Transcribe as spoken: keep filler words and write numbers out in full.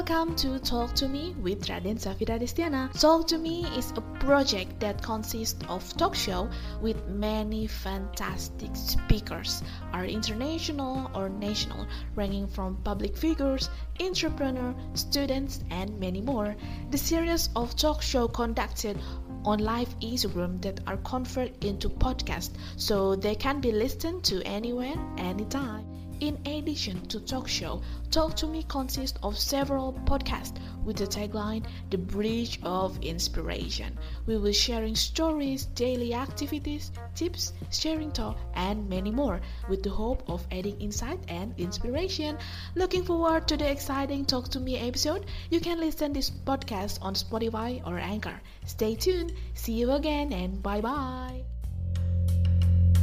Welcome to Talk to Me with Raden Safira Destiana. Talk to Me is a project that consists of talk show with many fantastic speakers, are international or national, ranging from public figures, entrepreneurs, students, and many more. The series of talk show conducted on live Instagram that are converted into podcasts so they can be listened to anywhere, anytime. In addition to talk show, Talk to Me consists of several podcasts with the tagline The Bridge of Inspiration. We will sharing stories, daily activities, tips, sharing talk, and many more with the hope of adding insight and inspiration. Looking forward to the exciting Talk to Me episode. You can listen this podcast on Spotify or Anchor. Stay tuned. See you again and bye bye.